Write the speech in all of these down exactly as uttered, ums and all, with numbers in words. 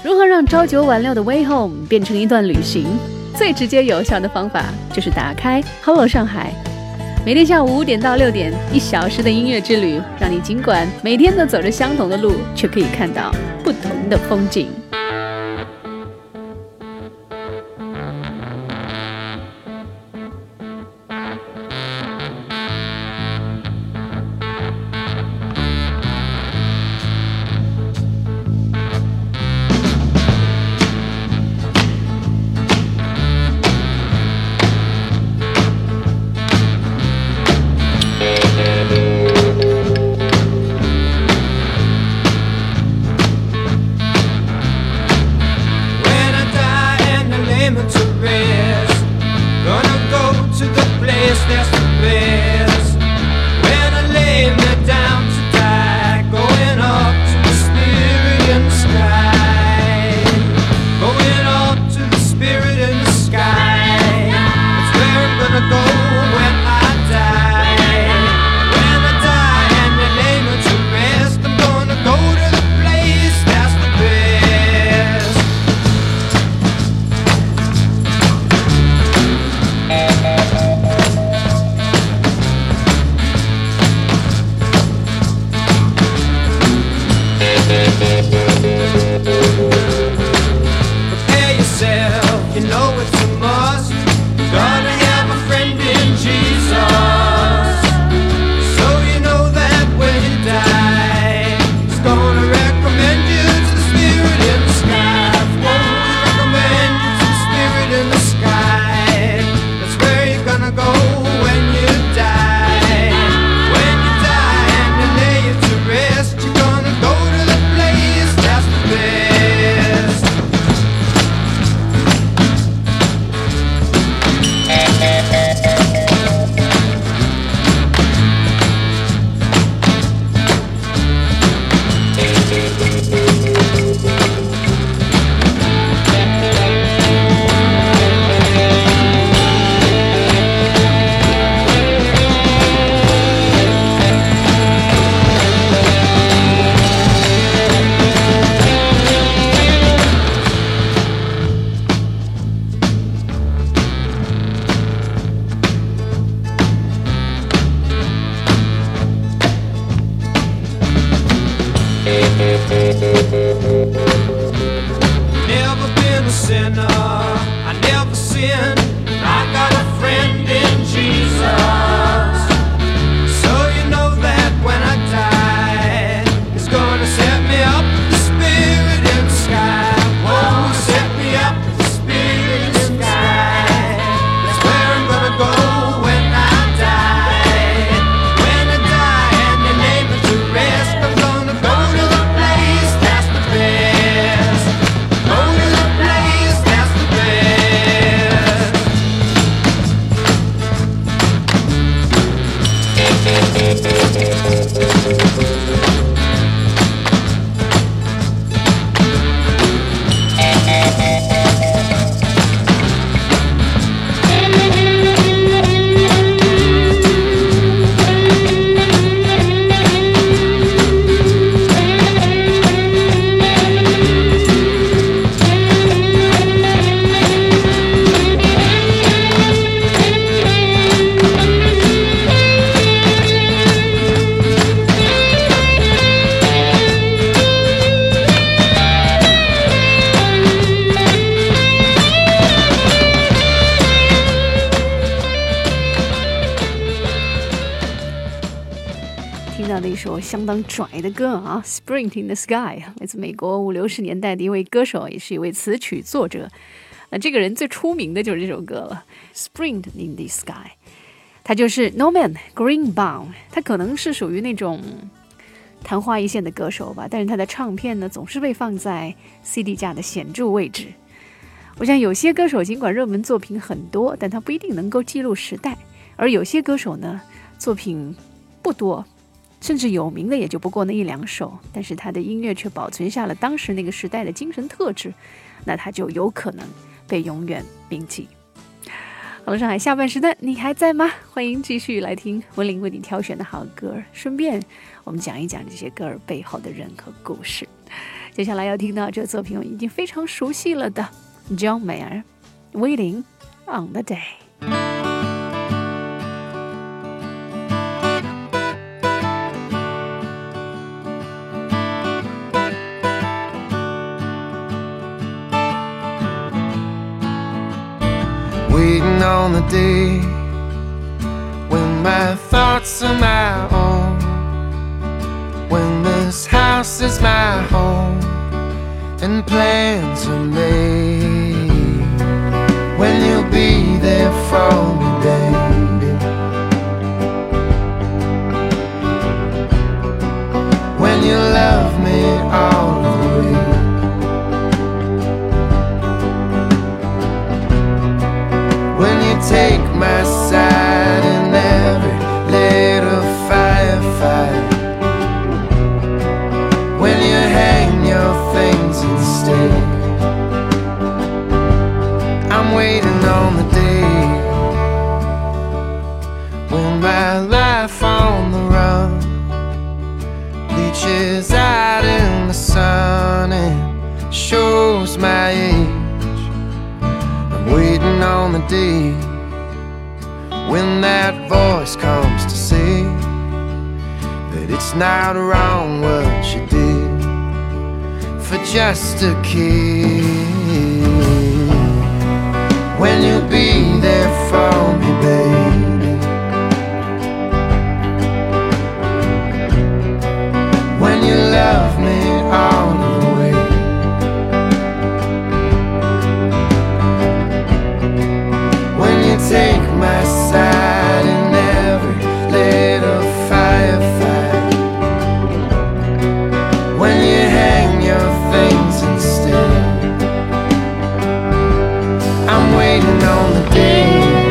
如何让朝九晚六的 Way Home 变成一段旅行？最直接有效的方法就是打开 Hello 上海，每天下午五点到六点，一小时的音乐之旅，让你尽管每天都走着相同的路，却可以看到不同的风景。 相当拽的歌啊 Sprint in the Sky 来自美国五六十年代的一位歌手，也是一位词曲作者。那这个人最出名的就是这首歌了 Sprint in the Sky， 他就是 Norman Greenbaum。 他可能是属于那种昙花一现的歌手吧，但是他的唱片呢总是被放在 C D 架的显著位置。我想有些歌手尽管热门作品很多，但他不一定能够记录时代，而有些歌手呢作品不多，甚至有名的也就不过那一两首，但是他的音乐却保存下了当时那个时代的精神特质，那他就有可能被永远铭记。好了，上海下半时段你还在吗？欢迎继续来听文玲为你挑选的好歌，顺便我们讲一讲这些歌儿背后的人和故事。 接下来要听到这个作品已经非常熟悉了的 John Mayer Waiting on the Day。Waiting on the day when my thoughts are my own, when this house is my home and plans are made, when you'll be there for me, baby, when you love me all the way, when you take my side in every little firefight, when you hang your things and stay. I'm waiting on the day when my life on the run bleaches out in the sun and shows my age. I'm waiting on the day when that voice comes to say that it's not wrong what you did for just a kid, when you'll be there for me, baby, when you love me all the way, when you take my side in every little firefight, when you hang your things and stay. I'm waiting on the day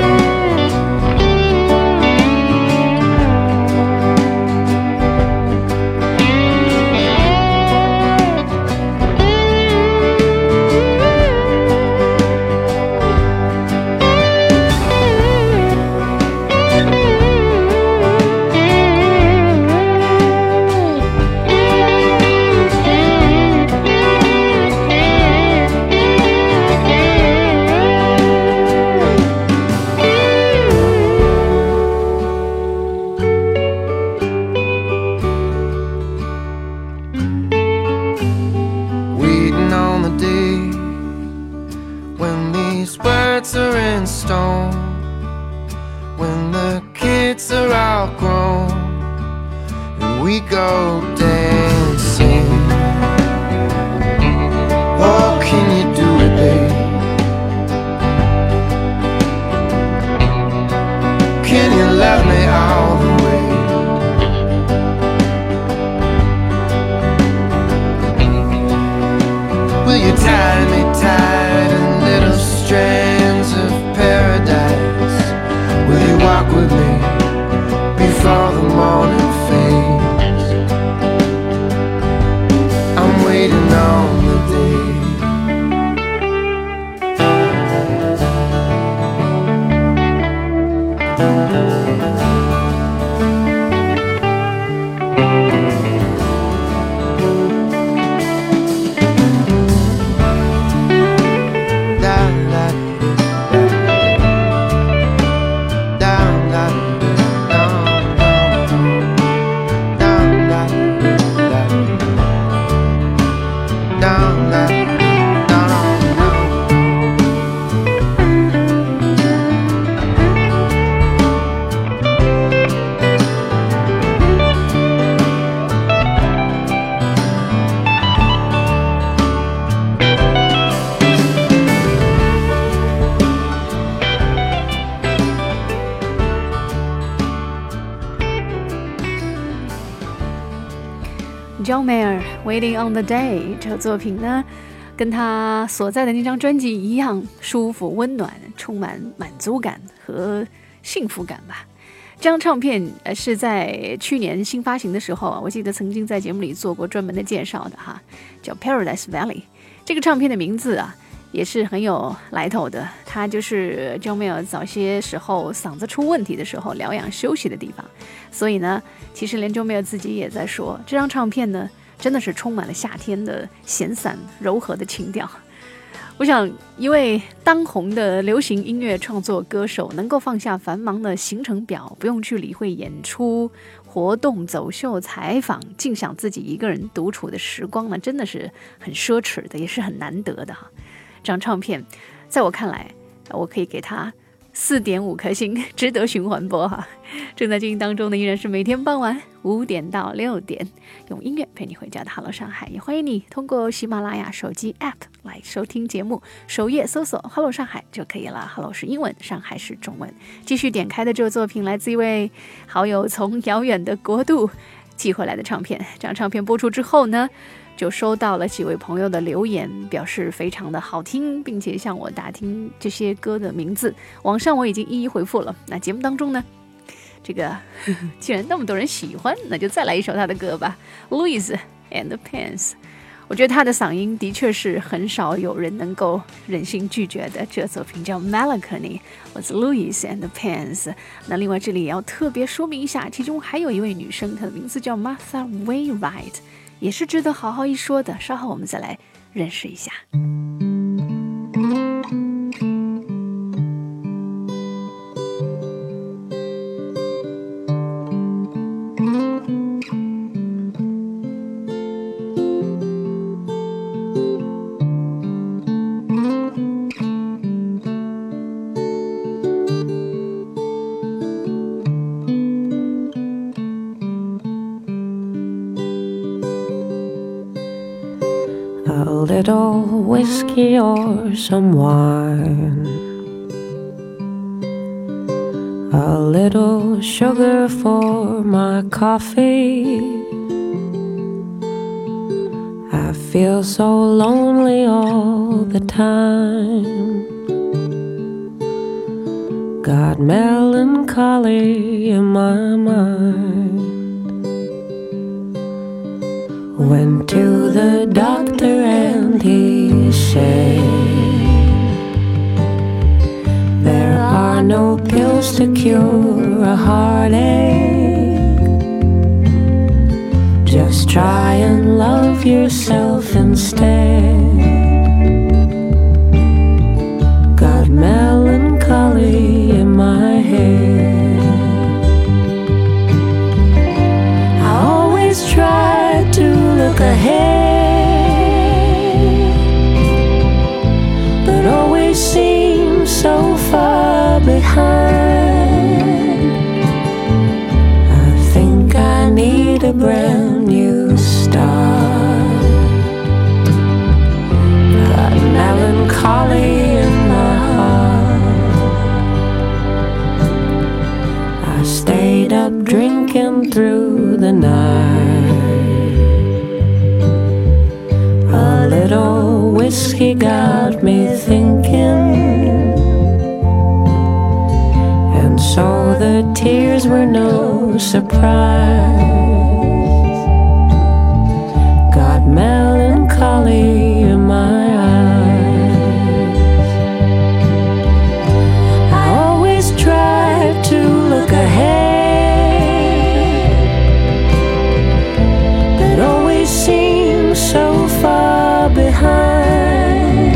are in stone, when the kids are all grown and we go dancing. Oh, can you do it, babe? Can you love me all the way? Will you tie me tight in little strands of paradise? Will you walk with me before the morning fades? I'm waiting on the day John Mayer Waiting on the Day 这个作品呢，跟他所在的那张专辑一样，舒服、温暖，充满满足感和幸福感吧。这张唱片呃是在去年新发行的时候啊，我记得曾经在节目里做过专门的介绍的哈，叫 Paradise Valley。这个唱片的名字啊也是很有来头的，它就是 John Mayer 早些时候嗓子出问题的时候疗养休息的地方。所以呢，其实连 John Mayer 自己也在说，这张唱片呢真的是充满了夏天的闲散柔和的情调。我想一位当红的流行音乐创作歌手能够放下繁忙的行程表，不用去理会演出活动走秀采访，尽享自己一个人独处的时光呢，真的是很奢侈的，也是很难得的哈。这张唱片在我看来，我可以给他四点五颗星，值得循环播哈。正在进行当中的依然是每天傍晚五点到六点，用音乐陪你回家的 Hello 上海，也欢迎你通过喜马拉雅手机 App 来收听节目，首页搜索 Hello 上海就可以了。 Hello 是英文，上海是中文。继续点开的这个作品来自一位好友从遥远的国度寄回来的唱片，这张唱片播出之后呢，就收到了几位朋友的留言，表示非常的好听，并且向我打听这些歌的名字，网上我已经一一回复了。那节目当中呢，这个呵呵既然那么多人喜欢，那就再来一首他的歌吧， Louis and the Pens。 我觉得他的嗓音的确是很少有人能够忍心拒绝的。这作品叫 Melancholy with Louis and the Pens。 那另外这里也要特别说明一下，其中还有一位女生，她的名字叫 Martha Wainwright， 也是值得好好一说的，稍后我们再来认识一下。 A little whiskey or some wine, a little sugar for my coffee. I feel so lonely all the time, got melancholy in my mind. Went to the doctor and he said, there are no pills to cure a heartache. Just try and love yourself instead. Got melancholy in my head. I always try to look ahead, but always seem so far behind. I think I need a brand new start. Got melancholy in my heart. I stayed up drinking through the night. A little whiskey got me thinking, and so the tears were no surprise. Got melancholy in my eyes. I always try to look ahead, but always seems so far behind.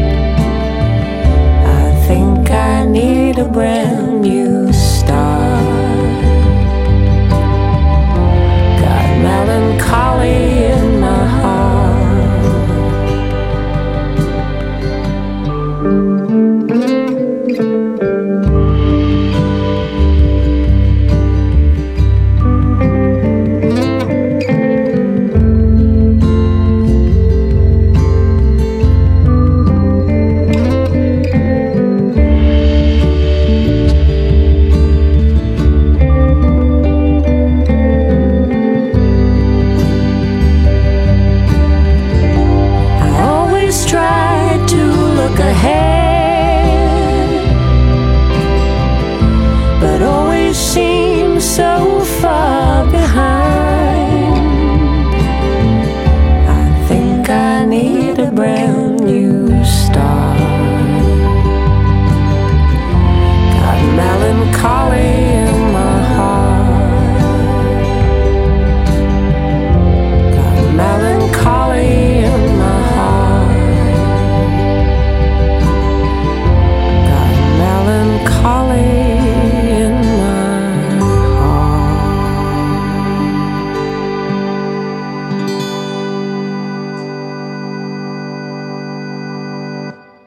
I think I need a brand new start. Got melancholy in my heart.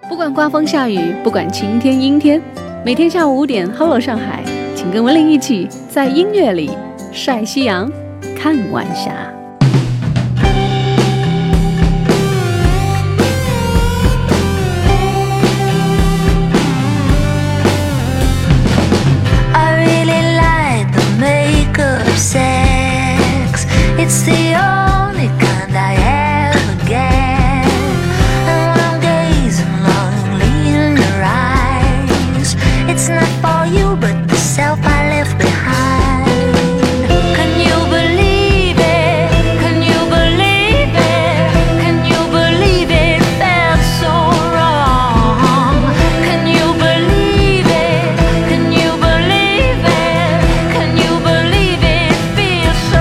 不管刮风下雨，不管晴天阴天，每天下午五点 Hello 上海，请跟文玲一起在音乐里晒夕阳看晚霞。 Sex, it's the only kind I ever get. And when I'm gazing longingly in your eyes, it's not for you but the self I left behind. Can you believe it? Can you believe it? Can you believe it felt so wrong? Can you believe it? Can you believe it? Can you believe it feels so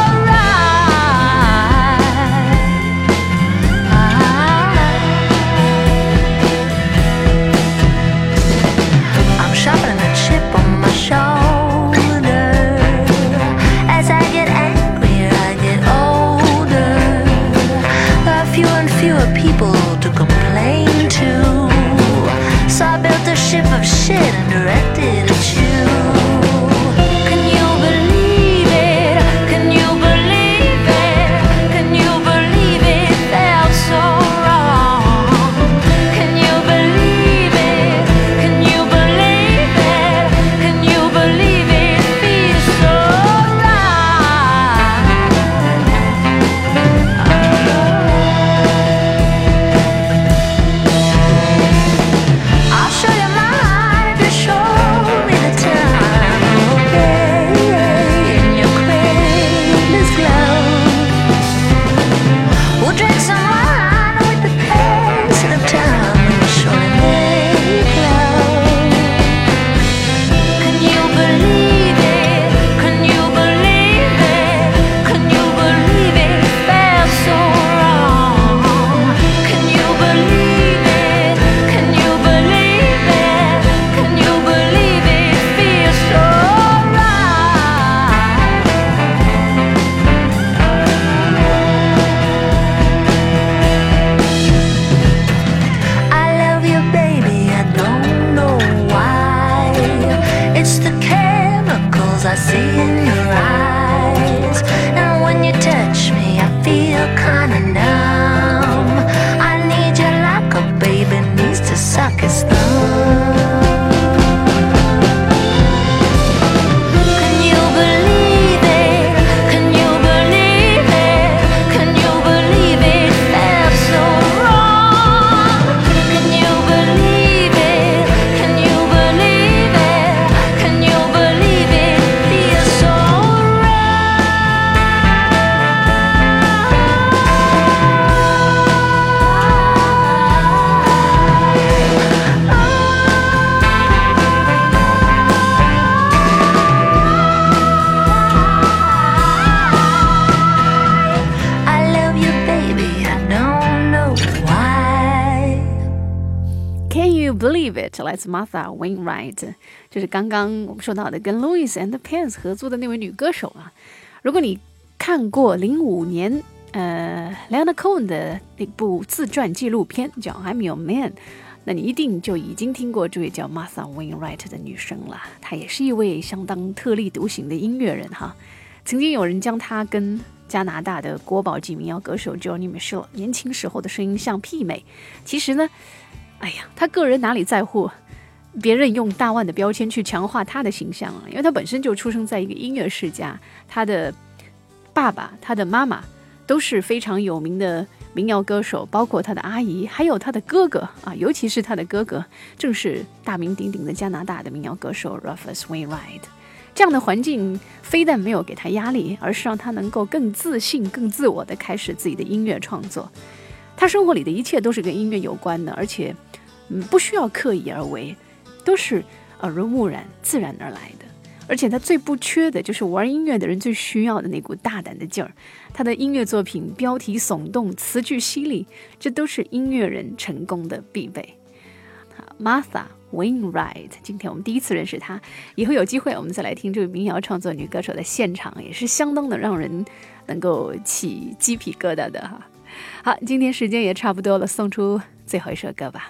Believe It 来自 Martha Wainwright， 就是刚刚我们说到的跟 Louis and the Pants 合作的那位女歌手啊。如果你看过零五年呃 Leonard Cohen 的那部自传纪录片叫 I'm Your Man， 那你一定就已经听过这位叫 Martha Wainwright 的女生了。她也是一位相当特立独行的音乐人哈。曾经有人将她跟加拿大的国宝级民谣歌手 Joni Mitchell 年轻时候的声音相媲美。其实呢，哎呀，他个人哪里在乎别人用大腕的标签去强化他的形象啊？因为他本身就出生在一个音乐世家，他的爸爸、他的妈妈都是非常有名的民谣歌手，包括他的阿姨，还有他的哥哥啊，尤其是他的哥哥，正是大名鼎鼎的加拿大的民谣歌手 Rufus Wainwright。这样的环境非但没有给他压力，而是让他能够更自信、更自我地开始自己的音乐创作。他生活里的一切都是跟音乐有关的，而且、嗯、不需要刻意而为，都是耳濡目染、自然而来的。而且他最不缺的就是玩音乐的人最需要的那股大胆的劲儿。他的音乐作品标题耸动，词句犀利，这都是音乐人成功的必备。Martha Wainwright， 今天我们第一次认识她，以后有机会我们再来听这位民谣创作女歌手的现场，也是相当的让人能够起鸡皮疙瘩的哈。好，今天时间也差不多了，送出最后一首歌吧。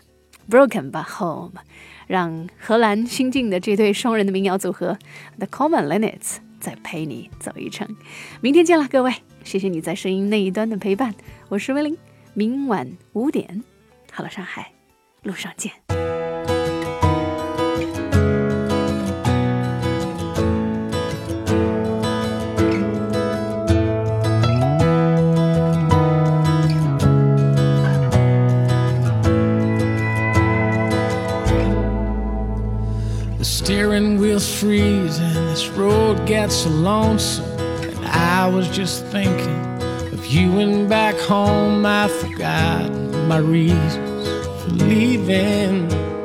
Broken But Home， 让荷兰新晋的这对双人的民谣组合 The Common Linnets 再陪你走一程。明天见了各位，谢谢你在声音那一端的陪伴，我是威玲，明晚五点好了上海路上见。 Steering wheel's freezing, this road gets so lonesome. And I was just thinking of you and back home. I forgot my reasons for leaving.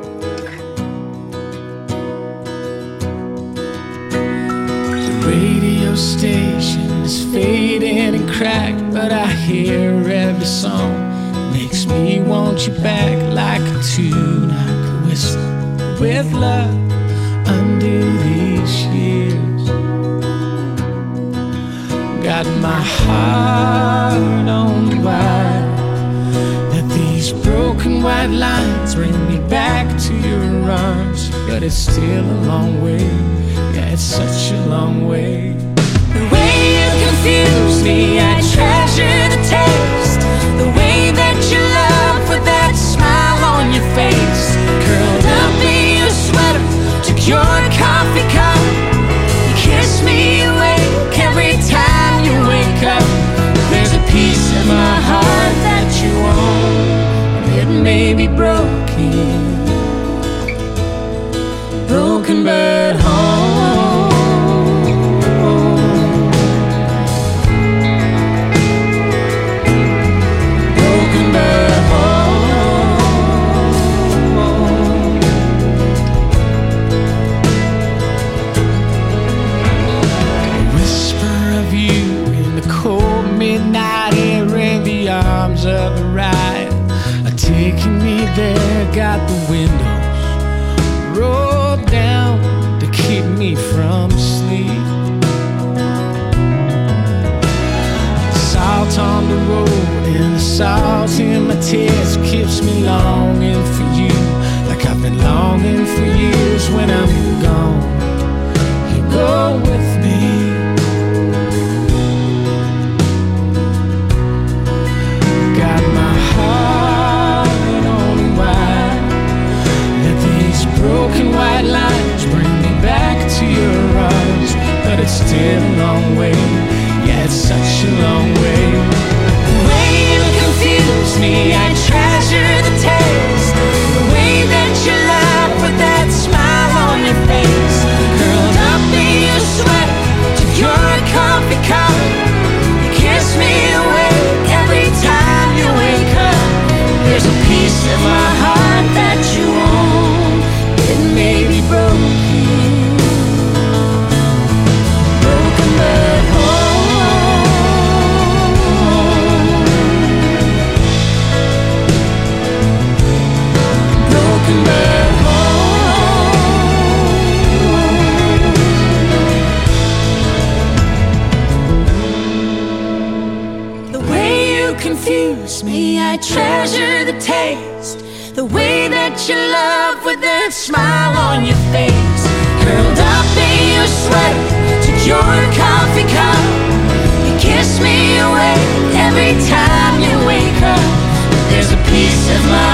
The radio station is fading and cracked, but I hear every song. Makes me want you back like a tune I could whistle with love under these years. Got my heart on the wire. Let these broken white lines bring me back to your arms. But it's still a long way, yeah, it's such a long way. The way you confuse me, I treasure the taste. The way that you love with that smile on your face. Curled up in your sweater, your coffee cup, you kiss me awake every time you wake up. There's a piece in my heart that you own, and it may be broken, broken but home. Broken but home. Midnight air in the arms of the ride, taking me there. Got the windows rolled down to keep me from sleep. Salt on the road and the salt in my tears keeps me longing for you, like I've been longing for years. When I'm gone, you go with me. Broken white lines bring me back to your arms, but it's still a long way, yeah, it's such a long way. The way you confuse me, I treasure the taste. The way that you laugh with that smile on your face. Curled up in your sweater to your coffee cup, you kiss me awake every time you wake up. There's a piece of my heart that you own. It may be broken, broken but whole. Broken but whole. The way you confuse me, I treasure the taste. The way that you love with that smile on your face. Curled up in your sweater, took your coffee cup. You kiss me awake every time you wake up. There's a piece of my